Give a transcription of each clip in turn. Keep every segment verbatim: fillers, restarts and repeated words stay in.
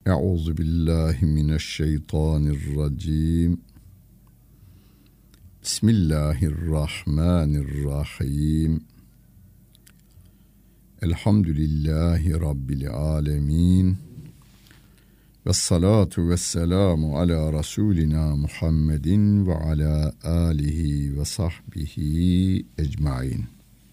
Euzu billahi mineşşeytanirracim. Bismillahirrahmanirrahim. Elhamdülillahi Rabbil alemin. Vessalatu vesselamu ala Resulina Muhammedin ve ala alihi ve sahbihi ecmain.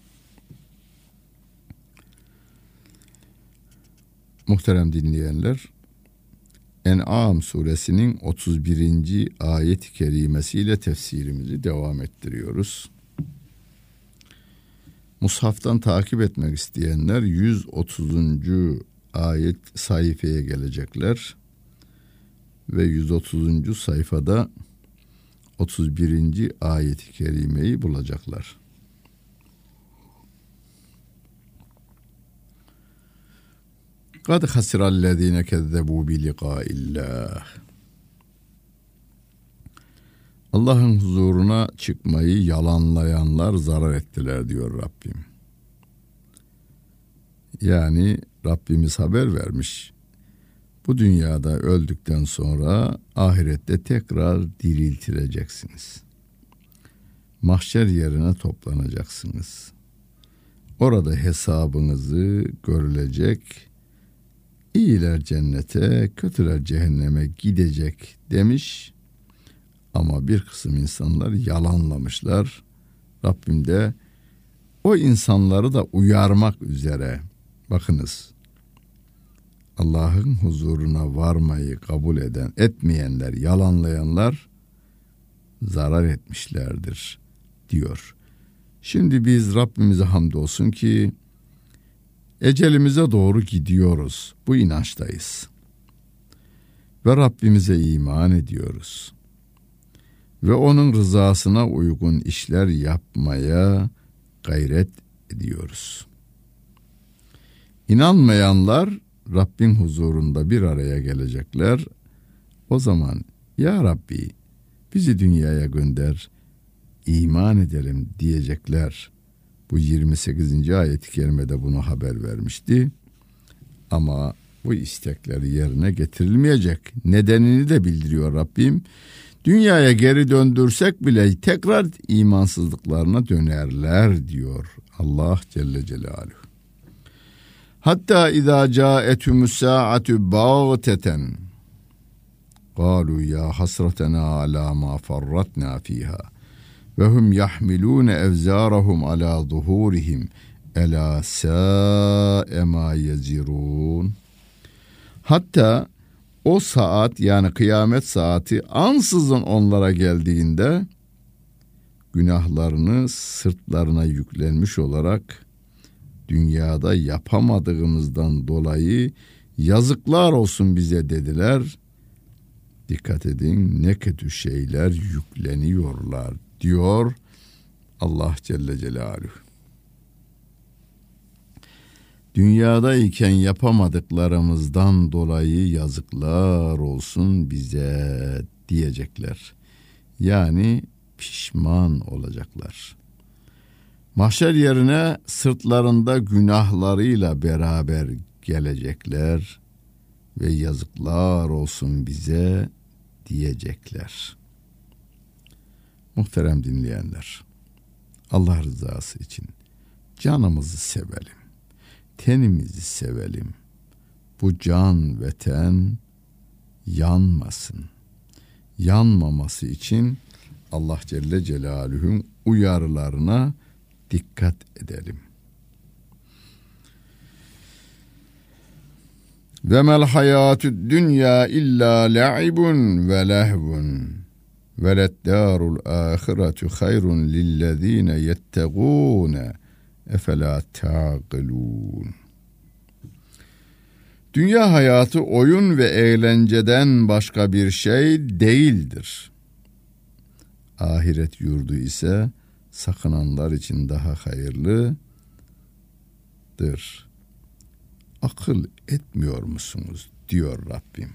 Muhterem dinleyenler, En'am suresinin otuz birinci ayet-i kerimesiyle tefsirimizi devam ettiriyoruz. Mushaftan takip etmek isteyenler yüz otuzuncu ayet sayfaya gelecekler ve yüz otuzuncu sayfada otuz birinci ayet-i kerimeyi bulacaklar. Kad hasirallezine kezzebu bi liqa'illah. Allah'ın huzuruna çıkmayı yalanlayanlar zarar ettiler diyor Rabbim. Yani Rabbimiz haber vermiş. Bu dünyada öldükten sonra ahirette tekrar diriltileceksiniz. Mahşer yerine toplanacaksınız. Orada hesabınızı görülecek. İyiler cennete, kötüler cehenneme gidecek demiş. Ama bir kısım insanlar yalanlamışlar. Rabbim de o insanları da uyarmak üzere. Bakınız, Allah'ın huzuruna varmayı kabul eden, etmeyenler, yalanlayanlar zarar etmişlerdir diyor. Şimdi biz Rabbimize hamdolsun ki ecelimize doğru gidiyoruz. Bu inançtayız. Ve Rabbimize iman ediyoruz. Ve onun rızasına uygun işler yapmaya gayret ediyoruz. İnanmayanlar Rabbin huzurunda bir araya gelecekler. O zaman ya Rabbi bizi dünyaya gönder, iman edelim diyecekler. Bu yirmi sekizinci ayet-i kerimede bunu haber vermişti. Ama bu istekleri yerine getirilmeyecek. Nedenini de bildiriyor Rabbim. Dünyaya geri döndürsek bile tekrar imansızlıklarına dönerler diyor Allah Celle Celaluhu. Hatta izâ câethumus sâ'atu bâgteten kâlû yâ hasretena alâ mâ farratnâ fîhâ ve hum yahmilûne evzârahum alâ zuhûrihim elâ sâ'e mâ yezirûn. Hatta o saat, yani kıyamet saati ansızın onlara geldiğinde günahlarını sırtlarına yüklenmiş olarak dünyada yapamadığımızdan dolayı yazıklar olsun bize dediler. Dikkat edin, ne kötü şeyler yükleniyorlar diyor Allah Celle Celaluhu. Dünyadayken yapamadıklarımızdan dolayı yazıklar olsun bize diyecekler. Yani pişman olacaklar. Mahşer yerine sırtlarında günahlarıyla beraber gelecekler ve yazıklar olsun bize diyecekler. Muhterem dinleyenler, Allah rızası için canımızı sevelim. Tenimizi sevelim. Bu can ve ten yanmasın. Yanmaması için Allah Celle Celaluhu'nun uyarılarına dikkat edelim. Ve mel hayatud dünya illa la'ibun ve lehvun ve leddârul âhiretu hayrun lillezîne yettegûne efela ta'qilûn. Dünya hayatı oyun ve eğlenceden başka bir şey değildir. Ahiret yurdu ise sakınanlar için daha hayırlıdır. Akıl etmiyor musunuz diyor Rabbim.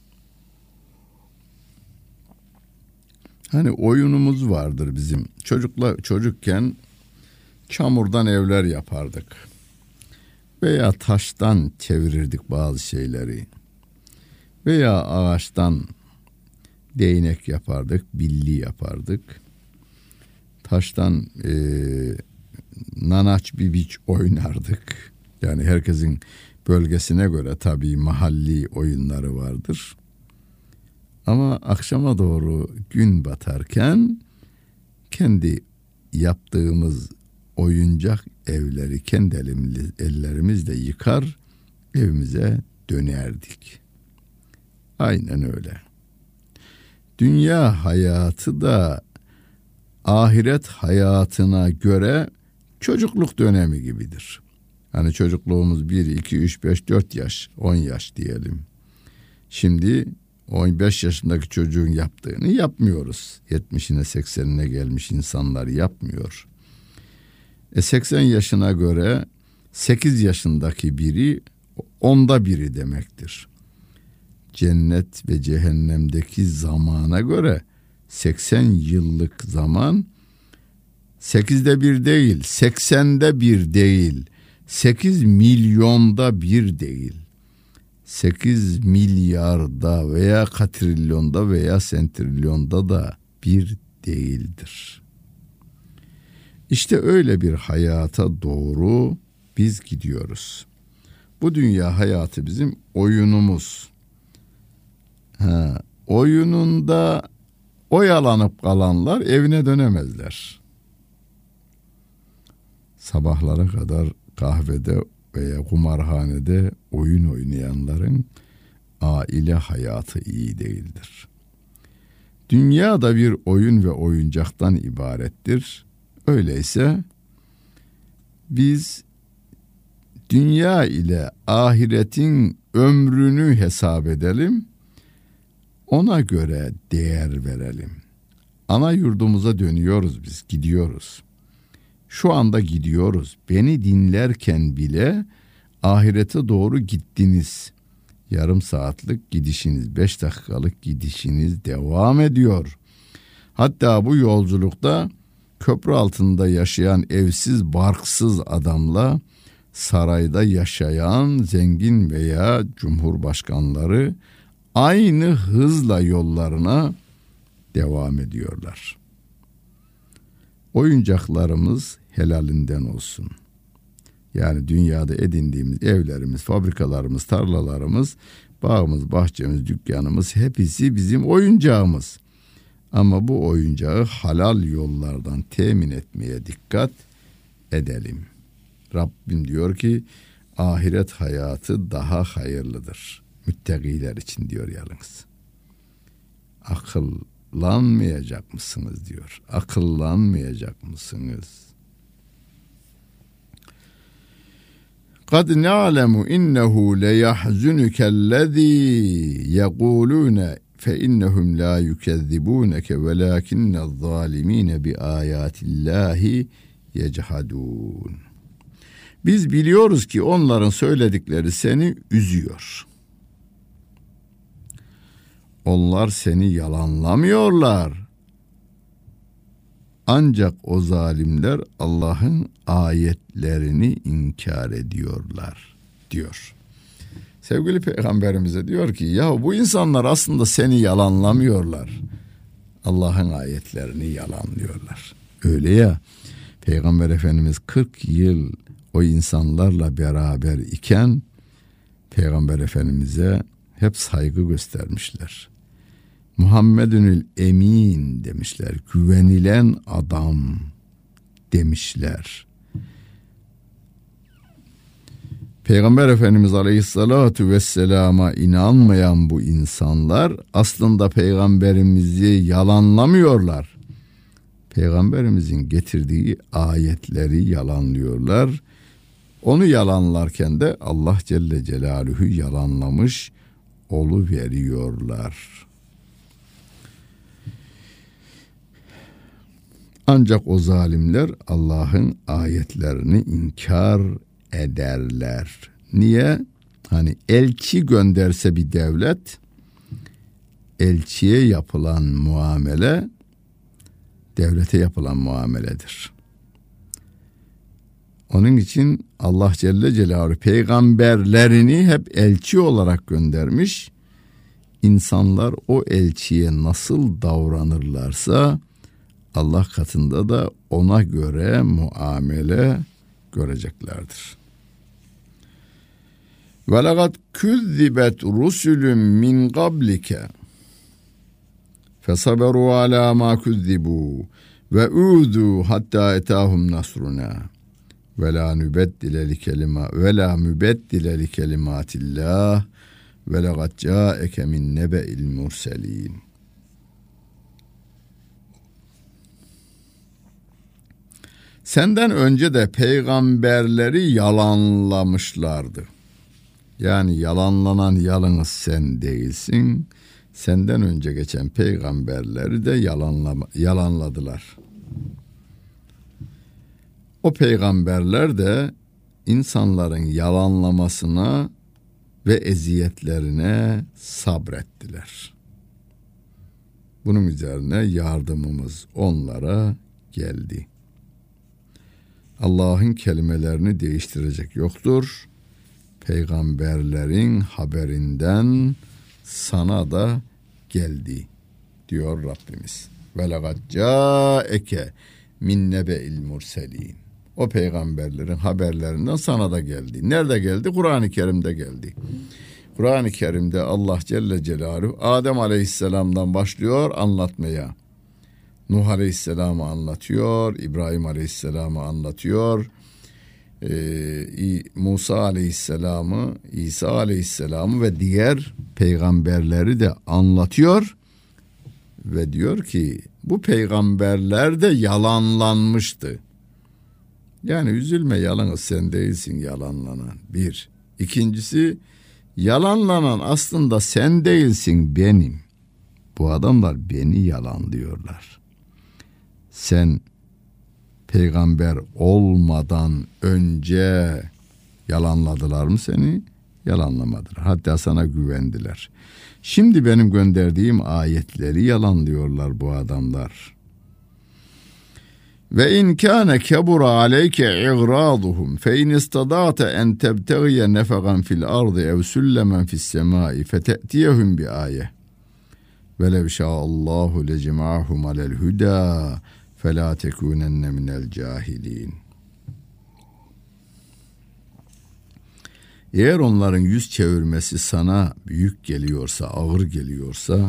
Hani oyunumuz vardır bizim. Çocukla çocukken çamurdan evler yapardık. Veya taştan çevirirdik bazı şeyleri. Veya ağaçtan değnek yapardık, billi yapardık. Taştan e, nanaç bibiç oynardık. Yani herkesin bölgesine göre tabii mahalli oyunları vardır. Ama akşama doğru gün batarken kendi yaptığımız oyuncak evleri kendi ellerimizle yıkar, evimize dönerdik. Aynen öyle. Dünya hayatı da ahiret hayatına göre çocukluk dönemi gibidir. Hani çocukluğumuz bir, iki, üç, beş, dört yaş, on yaş diyelim. Şimdi on beş yaşındaki çocuğun yaptığını yapmıyoruz. yetmişine seksenine gelmiş insanlar yapmıyor. E seksen yaşına göre sekiz yaşındaki biri onda biri demektir. Cennet ve cehennemdeki zamana göre seksen yıllık zaman sekizde bir değil, seksende bir değil, sekiz milyonda bir değil, sekiz milyarda veya katrilyonda veya sentrilyonda da bir değildir. İşte öyle bir hayata doğru biz gidiyoruz. Bu dünya hayatı bizim oyunumuz. Ha, oyununda oyalanıp kalanlar evine dönemezler. Sabahlara kadar kahvede veya kumarhanede oyun oynayanların aile hayatı iyi değildir. Dünya da bir oyun ve oyuncaktan ibarettir. Öyleyse biz dünya ile ahiretin ömrünü hesap edelim, ona göre değer verelim. Ana yurdumuza dönüyoruz biz, gidiyoruz. Şu anda gidiyoruz. Beni dinlerken bile ahirete doğru gittiniz. Yarım saatlik gidişiniz, beş dakikalık gidişiniz devam ediyor. Hatta bu yolculukta köprü altında yaşayan evsiz, barksız adamla sarayda yaşayan zengin veya cumhurbaşkanları aynı hızla yollarına devam ediyorlar. Oyuncaklarımız helalinden olsun. Yani dünyada edindiğimiz evlerimiz, fabrikalarımız, tarlalarımız, bağımız, bahçemiz, dükkanımız hepsi bizim oyuncağımız. Ama bu oyuncağı halal yollardan temin etmeye dikkat edelim. Rabbim diyor ki ahiret hayatı daha hayırlıdır. Müttakiler için diyor yalnız. Akıllanmayacak mısınız diyor. Akıllanmayacak mısınız? قَدْ نَعْلَمُ إِنَّهُ لَيَحْزُنُكَ الَّذ۪ي يَقُولُونَ فَإِنَّهُمْ لَا يُكَذِّبُونَكَ وَلَاكِنَّ الظَّالِم۪ينَ بِآيَاتِ اللّٰهِ يَجْحَدُونَ. Biz biliyoruz ki onların söyledikleri seni üzüyor. Onlar seni yalanlamıyorlar. Ancak o zalimler Allah'ın ayetlerini inkar ediyorlar diyor. Sevgili Peygamberimize diyor ki ya bu insanlar aslında seni yalanlamıyorlar. Allah'ın ayetlerini yalanlıyorlar. Öyle ya, Peygamber Efendimiz kırk yıl o insanlarla beraber iken Peygamber Efendimiz'e hep saygı göstermişler. Muhammedünül Emin demişler. Güvenilen adam demişler. Peygamber Efendimiz Aleyhissalatu vesselama inanmayan bu insanlar aslında Peygamberimizi yalanlamıyorlar. Peygamberimizin getirdiği ayetleri yalanlıyorlar. Onu yalanlarken de Allah Celle Celaluhu yalanlamış oluveriyorlar. Ancak o zalimler Allah'ın ayetlerini inkar ederler. Niye? Hani elçi gönderse bir devlet, elçiye yapılan muamele devlete yapılan muameledir. Onun için Allah Celle Celaluhu peygamberlerini hep elçi olarak göndermiş. insanlar o elçiye nasıl davranırlarsa Allah katında da ona göre muamele göreceklerdir. Ve laqad kuzzibet rusulun min qablike fesaberu ala ma kuzzibu ve uzu hatta etahum nasruna ve la nubeddile li kelima ve la mübeddile li kelimatillah ve laqad ca'eke min nebe'il murselin. Senden önce de peygamberleri yalanlamışlardı. Yani yalanlanan yalnız sen değilsin. Senden önce geçen peygamberleri de yalanlama, yalanladılar. O peygamberler de insanların yalanlamasına ve eziyetlerine sabrettiler. Bunun üzerine yardımımız onlara geldi. Allah'ın kelimelerini değiştirecek yoktur. Peygamberlerin haberinden sana da geldi diyor Rabbimiz. Ve laqad ca'eke min nebe'il murselin. O peygamberlerin haberlerinden sana da geldi. Nerede geldi? Kur'an-ı Kerim'de geldi. Kur'an-ı Kerim'de Allah Celle Celaluhu Adem Aleyhisselam'dan başlıyor anlatmaya. Nuh Aleyhisselam'ı anlatıyor, İbrahim Aleyhisselam'ı anlatıyor, Ee, Musa Aleyhisselam'ı, İsa Aleyhisselam'ı ve diğer peygamberleri de anlatıyor ve diyor ki bu peygamberler de yalanlanmıştı. Yani üzülme, yalnız sen değilsin yalanlanan. Bir. İkincisi, yalanlanan aslında sen değilsin, benim. Bu adamlar beni yalanlıyorlar. Sen peygamber olmadan önce yalanladılar mı seni? Yalanlamadılar. Hatta sana güvendiler. Şimdi benim gönderdiğim ayetleri yalanlıyorlar bu adamlar. Ve in kana kabura aleyke i'raduhum fe in istada'ta en tebtaghiye nefaqan fil ardı ev sullemen fis semai fete'tiyehum bi ayeh. Ve lev şa'allahu lecema'ahum alel huda فَلَا تَكُونَنَّ مِنَ الْجَاهِلِينَ. Eğer onların yüz çevirmesi sana büyük geliyorsa, ağır geliyorsa,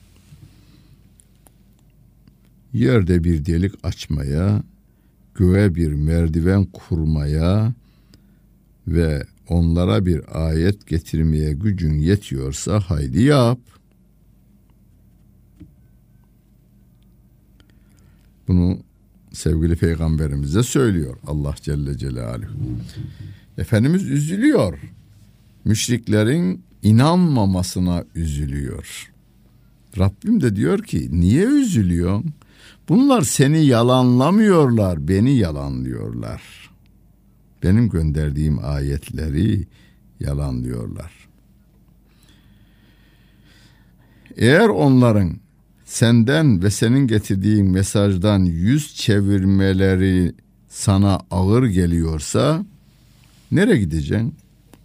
yerde bir delik açmaya, göğe bir merdiven kurmaya ve onlara bir ayet getirmeye gücün yetiyorsa haydi yap. Bunu sevgili peygamberimize söylüyor Allah Celle Celaluhu. Efendimiz üzülüyor. Müşriklerin inanmamasına üzülüyor. Rabbim de diyor ki niye üzülüyorsun? Bunlar seni yalanlamıyorlar, beni yalanlıyorlar. Benim gönderdiğim ayetleri yalanlıyorlar. Eğer onların senden ve senin getirdiğin mesajdan yüz çevirmeleri sana ağır geliyorsa nereye gideceksin?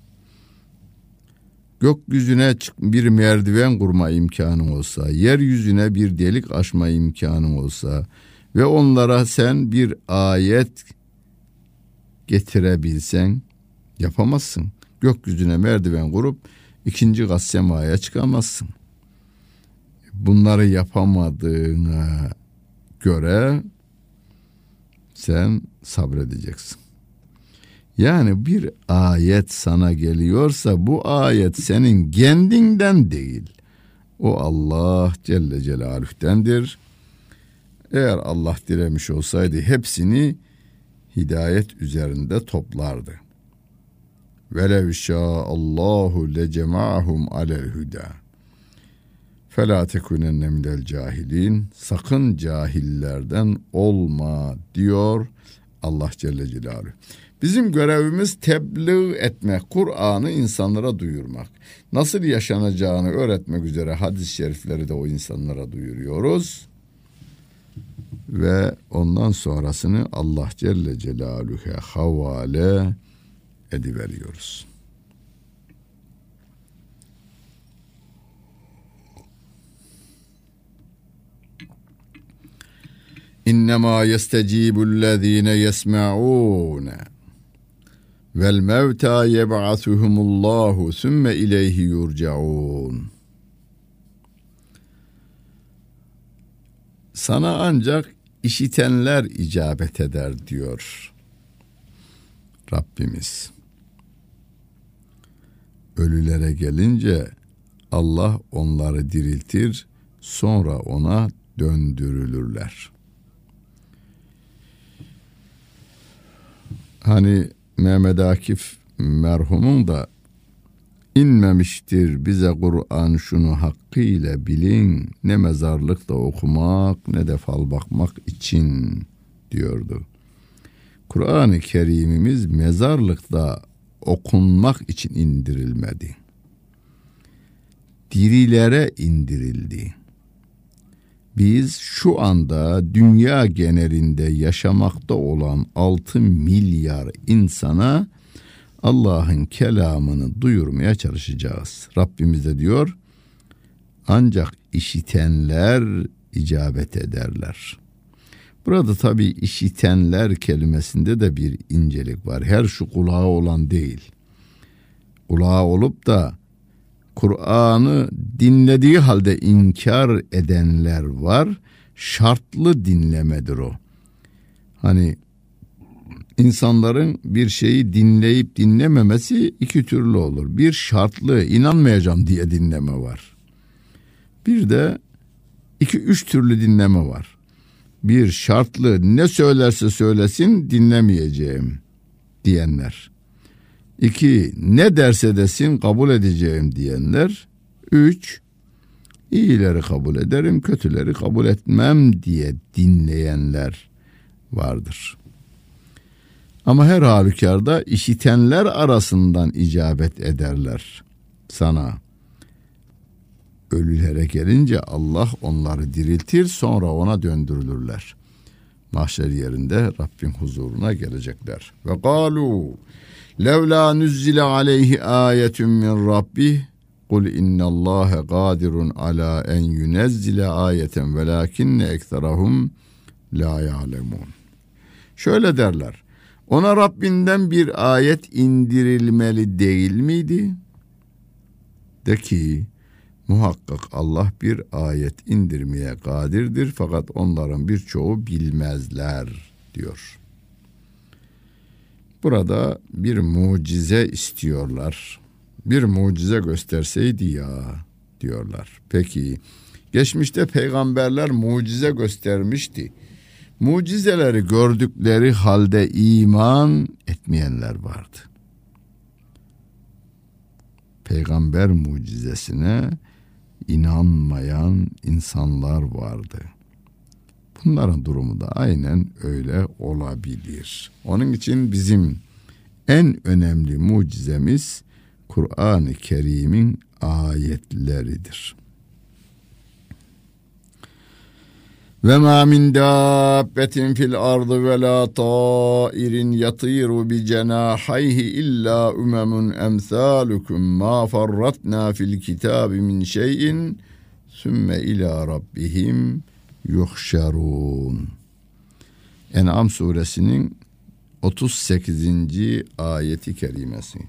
Gökyüzüne bir merdiven kurma imkanın olsa, yeryüzüne bir delik açma imkanın olsa ve onlara sen bir ayet getirebilsen yapamazsın. Gökyüzüne merdiven kurup ikinci kat semaya çıkamazsın. Bunları yapamadığına göre sen sabredeceksin. Yani bir ayet sana geliyorsa bu ayet senin kendinden değil. O Allah Celle Celaluhu'dendir. Eğer Allah dilemiş olsaydı hepsini hidayet üzerinde toplardı. Velev şâ'allahu lecema'ahum alel huda. فَلَا تَكُنَنَّ مِنَ الْجَاهِلِينَ. Sakın cahillerden olma diyor Allah Celle Celaluhu. Bizim görevimiz tebliğ etmek, Kur'an'ı insanlara duyurmak. Nasıl yaşanacağını öğretmek üzere hadis-i şerifleri de o insanlara duyuruyoruz. Ve ondan sonrasını Allah Celle Celaluhu'ya havale ediveriyoruz. İnnemâ yestecîbullezîne yesme'ûne vel mevtâ yeb'asuhumullâhu sümme ileyhi yurcaûn. Sana ancak işitenler icabet eder diyor Rabbimiz. Ölülere gelince Allah onları diriltir, sonra ona döndürülürler. Hani Mehmet Akif merhumun da inmemiştir bize Kur'an şunu hakkıyla bilin, ne mezarlıkta okumak ne de fal bakmak için diyordu. Kur'an-ı Kerim'imiz mezarlıkta okunmak için indirilmedi. Dirilere indirildi. Biz şu anda dünya genelinde yaşamakta olan altı milyar insana Allah'ın kelamını duyurmaya çalışacağız. Rabbimiz de diyor, ancak işitenler icabet ederler. Burada tabii işitenler kelimesinde de bir incelik var. Her şu kulağı olan değil. Kulağı olup da Kur'an'ı dinlediği halde inkar edenler var. Şartlı dinlemedir o. Hani insanların bir şeyi dinleyip dinlememesi iki türlü olur. Bir şartlı, inanmayacağım diye dinleme var. Bir de iki üç türlü dinleme var. Bir şartlı, ne söylerse söylesin dinlemeyeceğim diyenler. İki, ne derse desin kabul edeceğim diyenler. Üç, iyileri kabul ederim, kötüleri kabul etmem diye dinleyenler vardır. Ama her halükarda işitenler arasından icabet ederler sana. Ölülere gelince Allah onları diriltir, sonra ona döndürülürler. Mahşer yerinde Rabbin huzuruna gelecekler. Ve galu levla nuzzile aleyhi ayetun min rabbih kul innallâhe gâdirun alâ en yunezzile ayeten velâkinne ekserahum la ya'lemûn. Şöyle derler. Ona Rabbinden bir ayet indirilmeli değil miydi? De ki muhakkak Allah bir ayet indirmeye kadirdir fakat onların birçoğu bilmezler diyor. Burada bir mucize istiyorlar. Bir mucize gösterseydi ya diyorlar. Peki geçmişte peygamberler mucize göstermişti. Mucizeleri gördükleri halde iman etmeyenler vardı. Peygamber mucizesine inanmayan insanlar vardı. Bunların durumu da aynen öyle olabilir. Onun için bizim en önemli mucizemiz Kur'an-ı Kerim'in ayetleridir. Ve ma min dabbetin fil ardı ve la tairin yatiru bi cenahayhi illa umemun emsalukum ma farratna fil kitabi min şeyin sümme ila rabbihim yuhşarun. En'am suresinin otuz sekizinci ayeti kerimesi.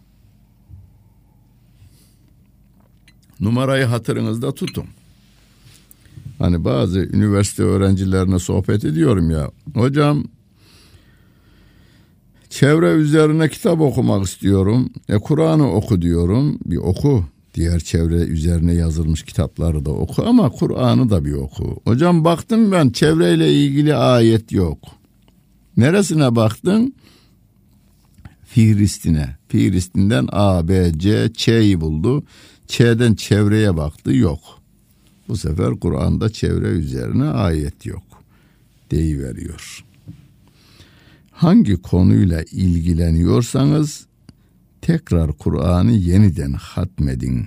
Numarayı hatırınızda tutun. Hani bazı üniversite öğrencilerine sohbet ediyorum ya. Hocam çevre üzerine kitap okumak istiyorum. E Kur'an'ı oku diyorum. Bir oku. Diğer çevre üzerine yazılmış kitapları da oku ama Kur'an'ı da bir oku. Hocam baktım ben çevreyle ilgili ayet yok. Neresine baktın? Fihristine. Fihristinden A, B, C, Ç'yi buldu. Ç'den çevreye baktı, yok. Bu sefer Kur'an'da çevre üzerine ayet yok deyiveriyor. Hangi konuyla ilgileniyorsanız tekrar Kur'an'ı yeniden hatmedin.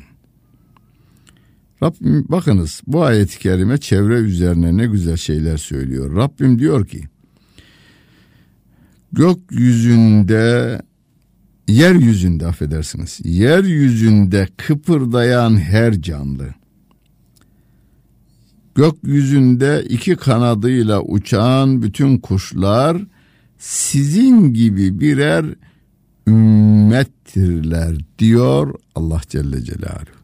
Rabbim bakınız bu ayet-i kerime çevre üzerine ne güzel şeyler söylüyor. Rabbim diyor ki gökyüzünde yeryüzünde affedersiniz yeryüzünde kıpırdayan her canlı gökyüzünde iki kanadıyla uçan bütün kuşlar sizin gibi birer ümmettirler diyor Allah Celle Celaluhu.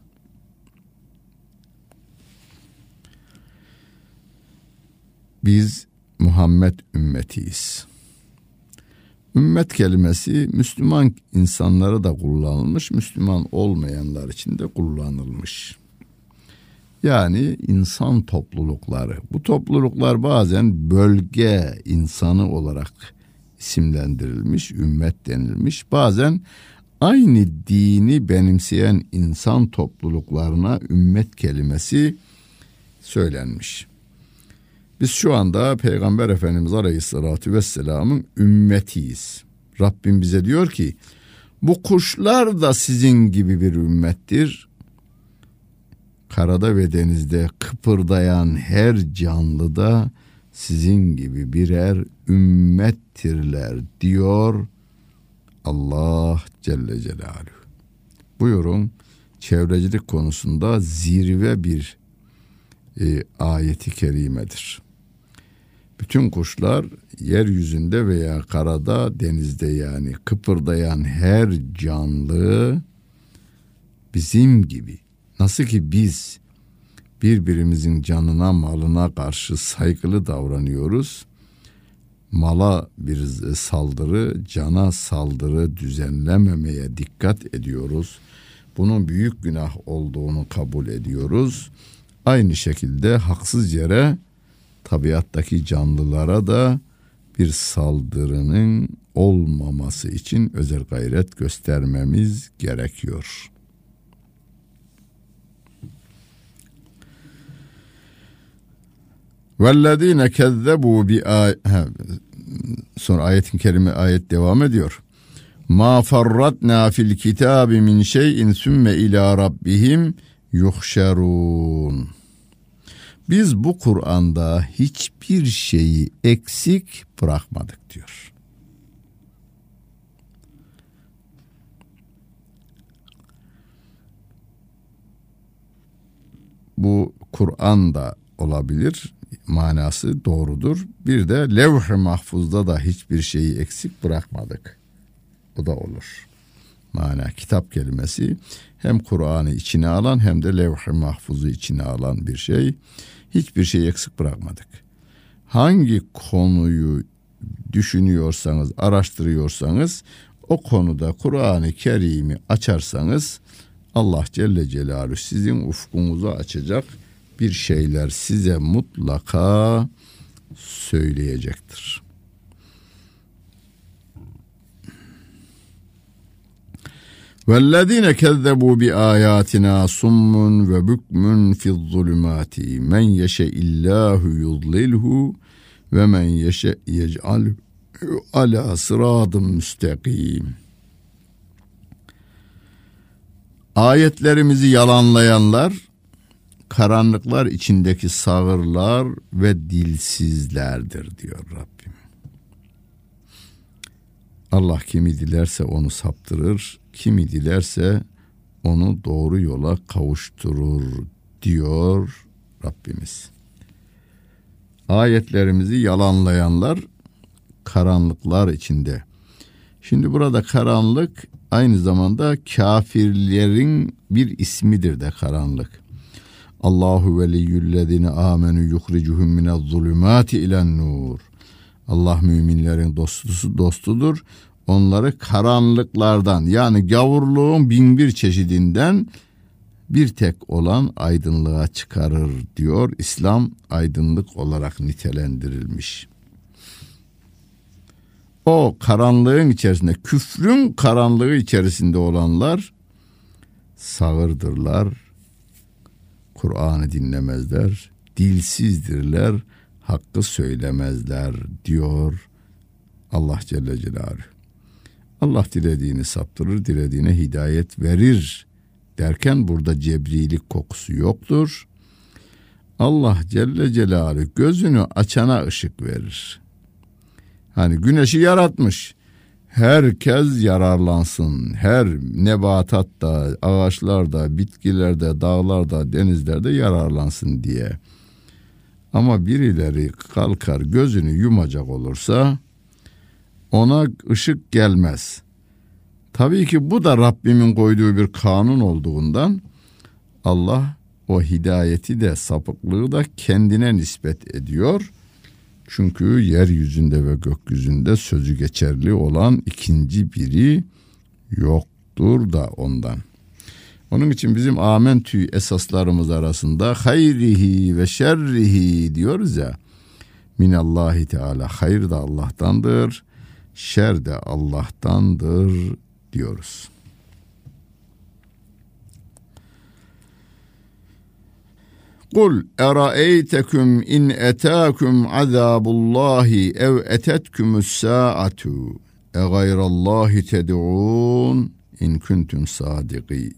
Biz Muhammed ümmetiyiz. Ümmet kelimesi Müslüman insanlara da kullanılmış, Müslüman olmayanlar için de kullanılmış. Yani insan toplulukları. Bu topluluklar bazen bölge insanı olarak isimlendirilmiş, ümmet denilmiş. Bazen aynı dini benimseyen insan topluluklarına ümmet kelimesi söylenmiş. Biz şu anda Peygamber Efendimiz Aleyhisselatü Vesselam'ın ümmetiyiz. Rabbim bize diyor ki, bu kuşlar da sizin gibi bir ümmettir. Karada ve denizde kıpırdayan her canlı da sizin gibi birer ümmettirler diyor Allah Celle Celaluhu. Buyurun, çevrecilik konusunda zirve bir e, ayeti kerimedir. Bütün kuşlar yeryüzünde veya karada, denizde, yani kıpırdayan her canlı bizim gibi. Nasıl ki biz birbirimizin canına, malına karşı saygılı davranıyoruz, mala bir saldırı, cana saldırı düzenlememeye dikkat ediyoruz. Bunun büyük günah olduğunu kabul ediyoruz. Aynı şekilde haksız yere tabiattaki canlılara da bir saldırının olmaması için özel gayret göstermemiz gerekiyor. Vellezine kezzebu bi ay sonra ayetin kerime ayet devam ediyor. Ma farratna fil kitabi min şey'in sümme ila rabbihim yuhşerun. Biz bu Kur'an'da hiçbir şeyi eksik bırakmadık diyor. Bu Kur'an'da olabilir, manası doğrudur. Bir de levh-i mahfuzda da hiçbir şeyi eksik bırakmadık. Bu da olur. Mana, kitap kelimesi hem Kur'an'ı içine alan hem de levh-i mahfuzu içine alan bir şey. Hiçbir şeyi eksik bırakmadık. Hangi konuyu düşünüyorsanız, araştırıyorsanız, o konuda Kur'an-ı Kerim'i açarsanız Allah Celle Celaluhu sizin ufkunuzu açacak bir şeyler size mutlaka söyleyecektir. وَالَّذ۪ينَ كَذَّبُوا بِآيَاتِنَا صُمٌّ وَبُكْمٌ فِي الظُّلُمَاتِ مَنْ يَشَإِ اللّٰهُ يُضْلِلْهُ وَمَنْ يَشَأْ يَجْعَلْهُ عَلَى صِرَاطٍ مُسْتَقِيمٍ. Ayetlerimizi yalanlayanlar, karanlıklar içindeki sağırlar ve dilsizlerdir diyor Rabbim. Allah kimi dilerse onu saptırır, kimi dilerse onu doğru yola kavuşturur diyor Rabbimiz. Ayetlerimizi yalanlayanlar karanlıklar içinde. Şimdi burada karanlık aynı zamanda kafirlerin bir ismidir de karanlık. Allahu veliyyüllezine amenu yuhricuhum minez-zulümati ilen-nur. Allah müminlerin dostusu dostudur. Onları karanlıklardan, yani gavurluğun bin bir çeşidinden bir tek olan aydınlığa çıkarır diyor. İslam aydınlık olarak nitelendirilmiş. O karanlığın içerisinde, küfrün karanlığı içerisinde olanlar sağırdırlar, Kur'an'ı dinlemezler, dilsizdirler, hakkı söylemezler diyor Allah Celle Celaluhu. Allah dilediğini saptırır, dilediğine hidayet verir derken burada cebrilik kokusu yoktur. Allah Celle Celaluhu gözünü açana ışık verir. Hani güneşi yaratmış, herkes yararlansın, her nebatatta, ağaçlarda, bitkilerde, dağlarda, denizlerde yararlansın diye. Ama birileri kalkar gözünü yumacak olursa ona ışık gelmez. Tabii ki bu da Rabbimin koyduğu bir kanun olduğundan Allah o hidayeti de sapıklığı da kendine nispet ediyor. Çünkü yeryüzünde ve gökyüzünde sözü geçerli olan ikinci biri yoktur da ondan. Onun için bizim amentü esaslarımız arasında hayrihi ve şerrihi diyoruz ya. Minallahi Teala, hayır da Allah'tandır, şer de Allah'tandır diyoruz. Kul eraeytekum in etâkum azâbullâhi ev etetkumus sâ'atu e gayrallâhi ted'ûn in kuntum sâdikîn.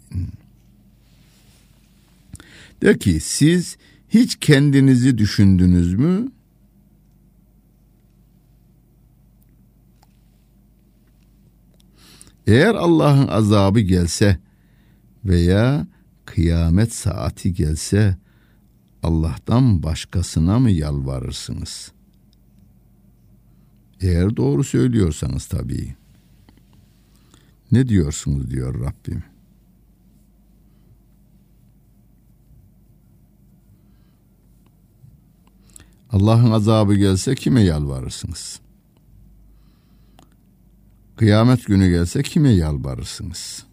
De ki siz hiç kendinizi düşündünüz mü? Eğer Allah'ın azabı gelse veya kıyamet saati gelse Allah'tan başkasına mı yalvarırsınız? Eğer doğru söylüyorsanız tabii. Ne diyorsunuz diyor Rabbim. Allah'ın azabı gelse kime yalvarırsınız? Kıyamet günü gelse kime yalvarırsınız?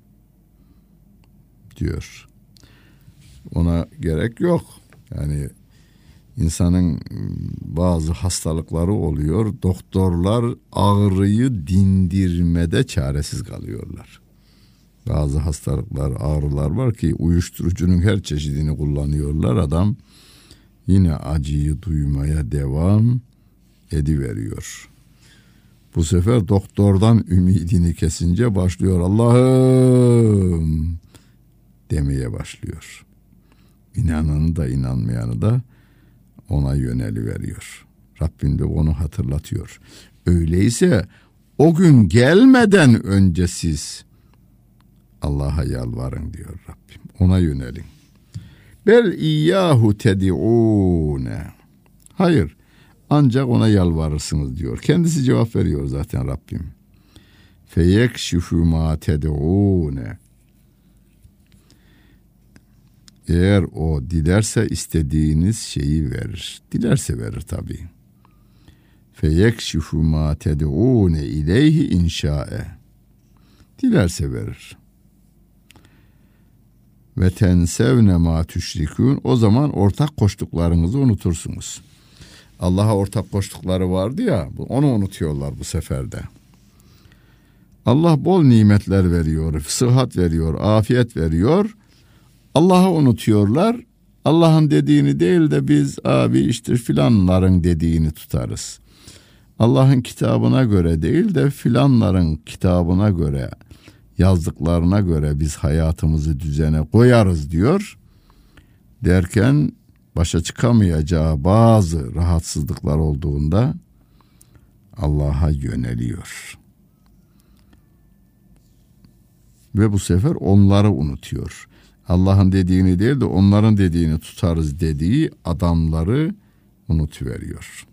Diyor. Ona gerek yok. Yani insanın bazı hastalıkları oluyor. Doktorlar ağrıyı dindirmede çaresiz kalıyorlar. Bazı hastalıklar, ağrılar var ki uyuşturucunun her çeşidini kullanıyorlar. Adam yine acıyı duymaya devam ediveriyor. Bu sefer doktordan ümidini kesince başlıyor. Allah'ım demeye başlıyor. İnananı da inanmayanı da ona yöneliveriyor. Rabbim de onu hatırlatıyor. Öyleyse o gün gelmeden önce siz Allah'a yalvarın diyor Rabbim. Ona yönelin. Bel iyyahu ted'ûne. Hayır, ancak ona yalvarırsınız diyor. Kendisi cevap veriyor zaten Rabbim. Feyekşifu ma ted'ûne. Eğer o dilerse istediğiniz şeyi verir. Dilerse verir tabii. Feyekşifu ma ted'ûne ileyhi inşa'e. Dilerse verir. Ve tensevne ma tüşrikûn. O zaman ortak koştuklarınızı unutursunuz. Allah'a ortak koştukları vardı ya, onu unutuyorlar bu seferde. Allah bol nimetler veriyor, sıhhat veriyor, afiyet veriyor. Allah'ı unutuyorlar. Allah'ın dediğini değil de biz abi işte filanların dediğini tutarız. Allah'ın kitabına göre değil de filanların kitabına göre, yazdıklarına göre biz hayatımızı düzene koyarız diyor. Derken başa çıkamayacağı bazı rahatsızlıklar olduğunda Allah'a yöneliyor. Ve bu sefer onları unutuyor. Allah'ın dediğini değil de onların dediğini tutarız dediği adamları unutuveriyor.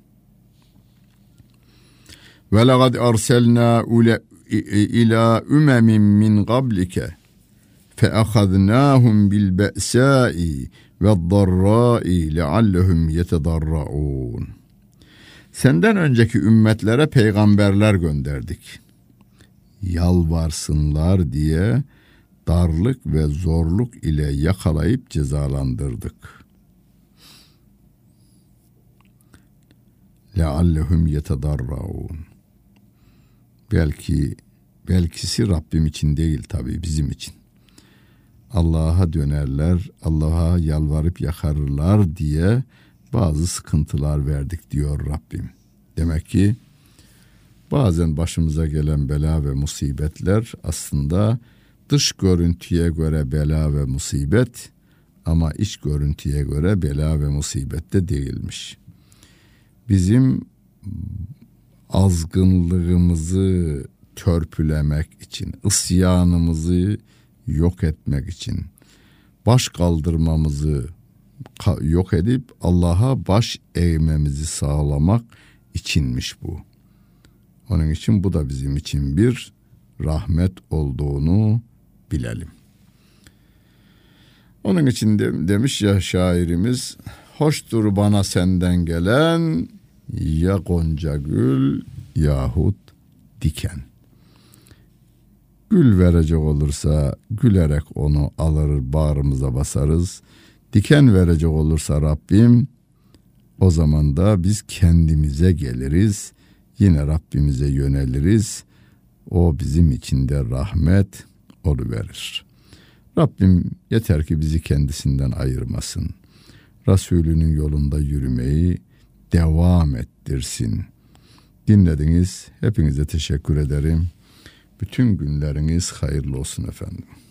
Ve laqad arsalna ila umemin min qablike fe ahadnahum bil ba'sa'i ve'd-darra'i leallehum yetedarraun. Senden önceki ümmetlere peygamberler gönderdik. Yalvarsınlar diye darlık ve zorluk ile yakalayıp cezalandırdık. Leallehum yetedarraun. Belki belkisi Rabbim için değil tabii, bizim için. Allah'a dönerler, Allah'a yalvarıp yakarırlar diye bazı sıkıntılar verdik diyor Rabbim. Demek ki bazen başımıza gelen bela ve musibetler aslında dış görüntüye göre bela ve musibet ama iç görüntüye göre bela ve musibet de değilmiş. Bizim azgınlığımızı törpülemek için, isyanımızı yok etmek için, baş kaldırmamızı, yok edip Allah'a baş eğmemizi sağlamak içinmiş bu. Onun için bu da bizim için bir rahmet olduğunu bilelim. Onun için de, demiş ya şairimiz, hoştur bana senden gelen ya gonca gül yahut diken. Gül verecek olursa gülerek onu alır bağrımıza basarız. Diken verecek olursa Rabbim, o zaman da biz kendimize geliriz. Yine Rabbimize yöneliriz. O bizim için de rahmet oluverir. Rabbim yeter ki bizi kendisinden ayırmasın. Resulünün yolunda yürümeyi devam ettirsin. Dinlediniz. Hepinize teşekkür ederim. Bütün günleriniz hayırlı olsun efendim.